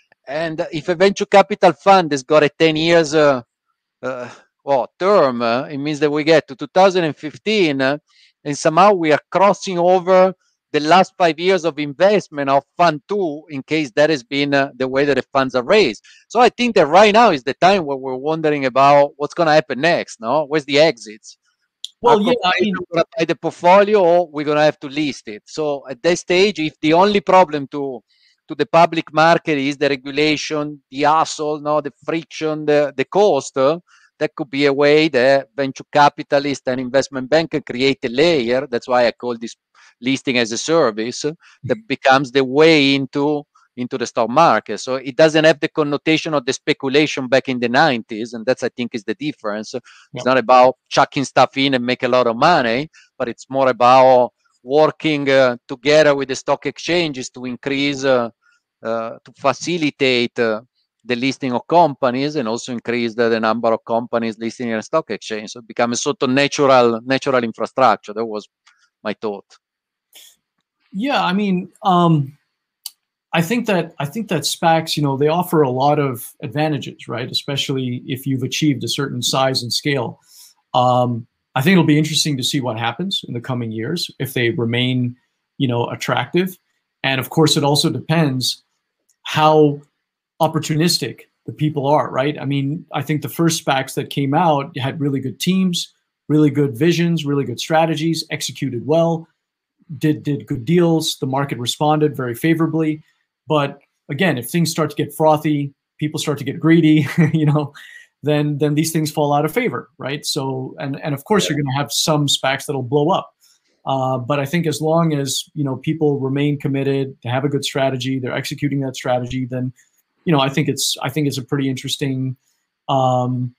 And if a venture capital fund has got a ten years uh, uh, well, term, uh, it means that we get to two thousand fifteen uh, and somehow we are crossing over the last five years of investment of fund two, in case that has been uh, the way that the funds are raised. So I think that right now is the time where we're wondering about what's going to happen next, no? Where's the exits? Well, yeah, I mean, we're going to buy the portfolio or we're going to have to list it. So at that stage, if the only problem to to the public market is the regulation, the hassle, no, the friction, the, the cost, uh, that could be a way that venture capitalist and investment bank can create a layer. That's why I call this listing as a service, uh, that becomes the way into into the stock market. So it doesn't have the connotation of the speculation back in the nineties. And that's, I think, is the difference. Yep. It's not about chucking stuff in and make a lot of money, but it's more about working uh, together with the stock exchanges to increase, uh, uh, to facilitate uh, the listing of companies and also increase the, the number of companies listing in a stock exchange. So it becomes a sort of natural, natural infrastructure. That was my thought. Yeah, I mean, um, I think that I think that SPACs, you know, they offer a lot of advantages, right? Especially if you've achieved a certain size and scale. Um, I think it'll be interesting to see what happens in the coming years if they remain, you know, attractive. And of course, it also depends how opportunistic the people are, right? I mean, I think the first SPACs that came out had really good teams, really good visions, really good strategies, executed well, did did good deals. The market responded very favorably. But again, if things start to get frothy, people start to get greedy, you know, then then these things fall out of favor, right? So, and and of course, you're going to have some SPACs that'll blow up. Uh, but I think as long as, you know, people remain committed to have a good strategy, they're executing that strategy, then, you know, I think it's I think it's a pretty interesting um,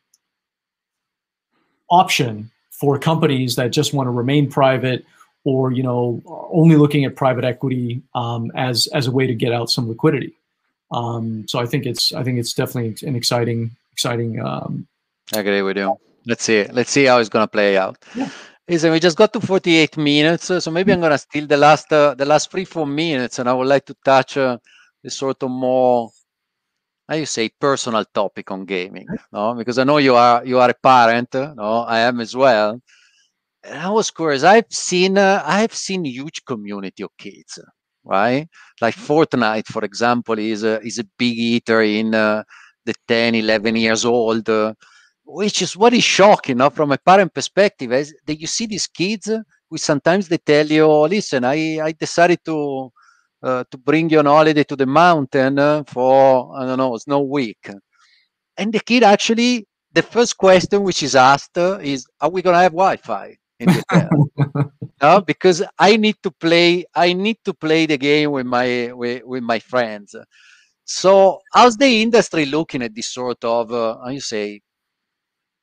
option for companies that just want to remain private, or, you know, only looking at private equity um, as as a way to get out some liquidity. Um, so I think it's I think it's definitely an exciting exciting. Um, I agree with you. Let's see. Let's see how it's gonna play out. Yeah. Listen, we just got to forty-eight minutes, so maybe I'm gonna steal the last uh, the last three four minutes, and I would like to touch uh, the sort of more, how you say, personal topic on gaming, no? Because I know you are you are a parent, no? I am as well. And I was curious. I've seen uh, I've seen huge community of kids, right? Like Fortnite, for example, is a is a big eater in uh, the ten, eleven years old, uh, which is what is shocking, no? From a parent perspective, is that you see these kids uh, who sometimes they tell you, oh, listen, I I decided to uh, to bring you on holiday to the mountain uh, for, I don't know, Snow Week, and the kid actually, the first question which is asked uh, is, are we gonna have Wi-Fi in the hotel? No, because I need to play. I need to play the game with my with, with my friends. So, how's the industry looking at this sort of, uh, how you say,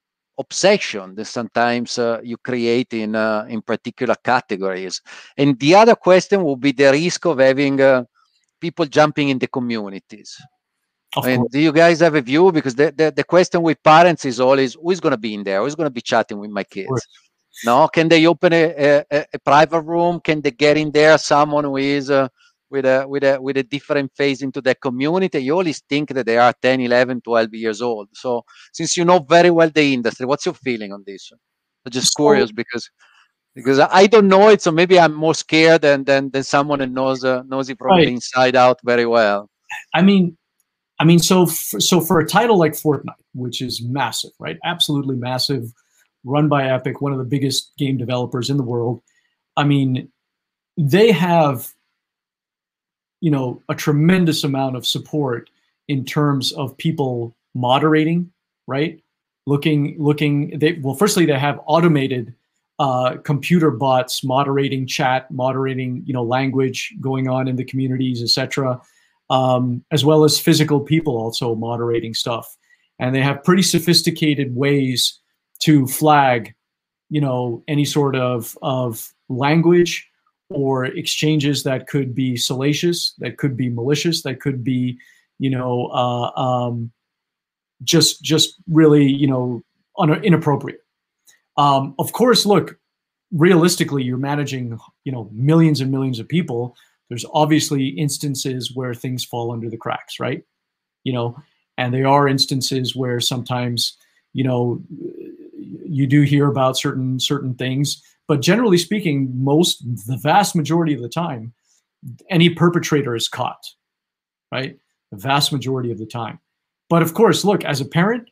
obsession that sometimes uh, you create in uh, in particular categories. And the other question would be the risk of having uh, people jumping in the communities. Of I mean, course. do you guys have a view? Because the, the, the question with parents is always, who's going to be in there? Who's going to be chatting with my kids? No, can they open a, a, a private room? Can they get in there someone who is uh, with a with a with a different face into the community? You always think that they are ten, eleven, twelve years old. So since you know very well the industry, what's your feeling on this? I'm just So- curious because because I don't know it, so maybe I'm more scared than than, than someone that knows uh, knows it from Right. the inside out very well. I mean, I mean, so for, so for a title like Fortnite, which is massive, right? Absolutely massive, run by Epic, one of the biggest game developers in the world. I mean, they have, you know, a tremendous amount of support in terms of people moderating, right? Looking, looking. They well, firstly, they have automated uh, computer bots moderating chat, moderating, you know, language going on in the communities, et cetera. Um, as well as physical people also moderating stuff. And they have pretty sophisticated ways to flag, you know, any sort of, of language or exchanges that could be salacious, that could be malicious, that could be, you know, uh, um, just, just really, you know, un- inappropriate. Um, of course, look, realistically, you're managing, you know, millions and millions of people. There's obviously instances where things fall under the cracks, right? You know, and there are instances where sometimes, you know, you do hear about certain certain things, but generally speaking, most, the vast majority of the time, any perpetrator is caught, right? The vast majority of the time. But of course, look, as a parent,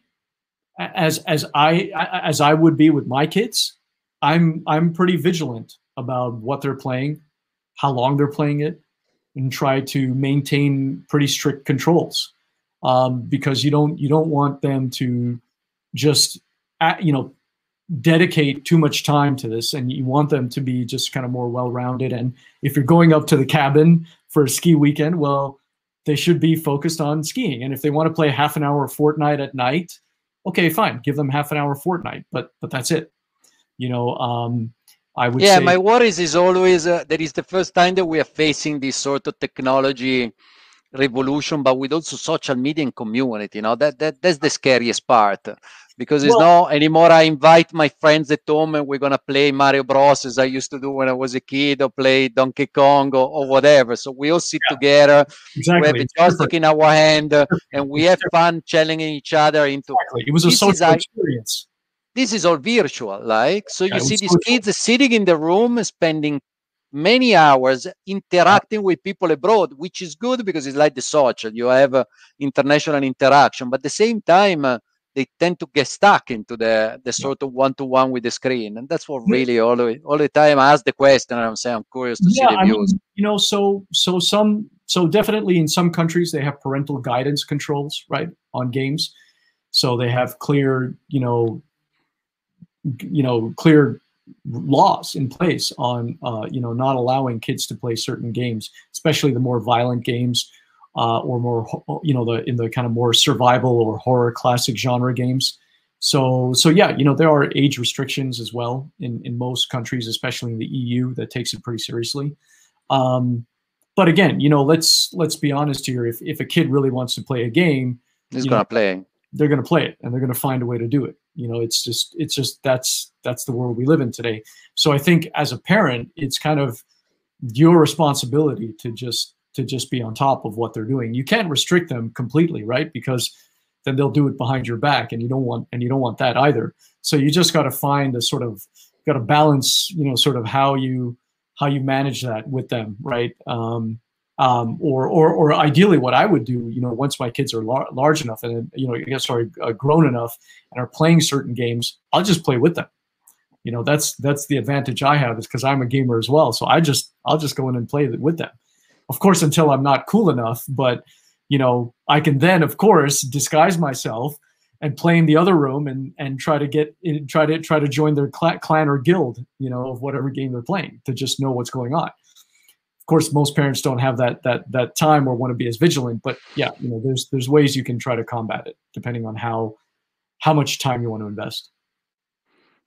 as as I as I would be with my kids, I'm I'm pretty vigilant about what they're playing, how long they're playing it, and try to maintain pretty strict controls, um, because you don't you don't want them to just uh, you know dedicate too much time to this, and you want them to be just kind of more well-rounded. And if you're going up to the cabin for a ski weekend, well, they should be focused on skiing. And if they want to play half an hour of Fortnite at night, okay, fine, give them half an hour of Fortnite, but but that's it. You know. Um, I would yeah, say, my worries is always uh, that is the first time that we are facing this sort of technology revolution, but with also social media and community. You know, that that that's the scariest part, because it's well, not anymore. I invite my friends at home and we're gonna play Mario Bros. As I used to do when I was a kid, or play Donkey Kong or, or whatever. So we all sit yeah, together. We have exactly. a It's joystick different. in our hand, uh, and we It's have different. fun challenging each other into. Exactly. It was a This is social I. experience. This is all virtual, like, so Yeah, you it see was these social. kids sitting in the room spending many hours interacting with people abroad, which is good because it's like the social, you have uh, international interaction, but at the same time uh, they tend to get stuck into the the Yeah. sort of one-to-one with the screen. And that's what Yeah, really all the, all the time I ask the question, and I'm saying I'm curious to see yeah, the I views. mean, you know, so so some so definitely in some countries they have parental guidance controls, right, on games. So they have clear, you know, you know, clear laws in place on, uh, you know, not allowing kids to play certain games, especially the more violent games, uh, or more, you know, the in the kind of more survival or horror classic genre games. So, so yeah, you know, there are age restrictions as well in in most countries, especially in the E U, that takes it pretty seriously. Um, but again, you know, let's let's be honest here. If if a kid really wants to play a game, He's you know, gonna play. they're going to play it, and they're going to find a way to do it. You know, it's just, it's just, that's, that's the world we live in today. So I think as a parent, it's kind of your responsibility to just, to just be on top of what they're doing. You can't restrict them completely, right? Because then they'll do it behind your back, and you don't want, and you don't want that either. So you just got to find a sort of, got to balance, you know, sort of how you, how you manage that with them. Right. Um, Um, or, or, or ideally, what I would do, you know, once my kids are lar- large enough and, you know, I guess, sorry, uh, grown enough and are playing certain games, I'll just play with them. You know, that's that's the advantage I have, is because I'm a gamer as well. So I just, I'll just go in and play with them. Of course, until I'm not cool enough, but, you know, I can then, of course, disguise myself and play in the other room and and try to get in, try to try to join their cl- clan or guild, you know, of whatever game they're playing, to just know what's going on. Of course, most parents don't have that that that time or want to be as vigilant, but yeah, you know, there's there's ways you can try to combat it depending on how how much time you want to invest.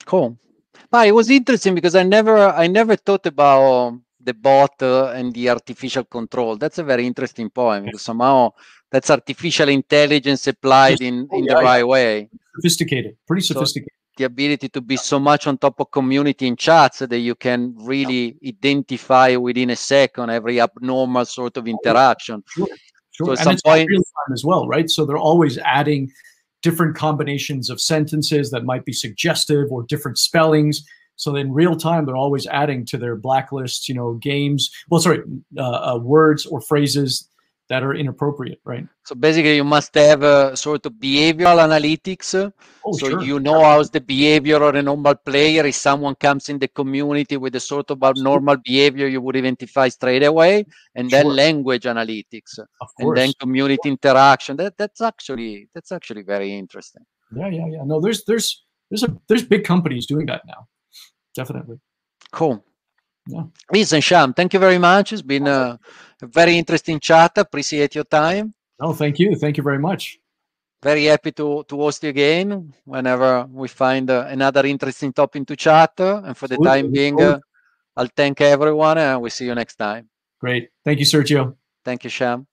Cool. But it was interesting because I never, I never thought about the bot uh, and the artificial control. That's a very interesting point because somehow that's artificial intelligence applied in, Oh, in yeah, the right yeah. way. Sophisticated, pretty So sophisticated. the ability to be so much on top of community in chats that you can really identify within a second every abnormal sort of interaction. Sure, sure. So at And some it's all point, real time as well, right? So they're always adding different combinations of sentences that might be suggestive or different spellings. So in real time, they're always adding to their blacklists, you know, games, well, sorry, uh, uh, words or phrases that are inappropriate, right? so basically you must have a sort of behavioral analytics. Oh, So sure. you know how's the behavior of a normal player. If someone comes in the community with a sort of abnormal behavior, you would identify straight away. And then Sure. language analytics, Of and then course. community interaction. That that's actually that's actually very interesting. Yeah, yeah, yeah. No, there's there's there's a there's big companies doing that now. Definitely. Cool. Yeah. Listen, Sham, thank you very much. It's been a, a very interesting chat. Appreciate your time. No, thank you. Thank you very much. Very happy to, to host you again whenever we find uh, another interesting topic to chat. Uh, and for the Absolutely. time being, uh, I'll thank everyone and we'll see you next time. Great. Thank you, Sergio. Thank you, Sham.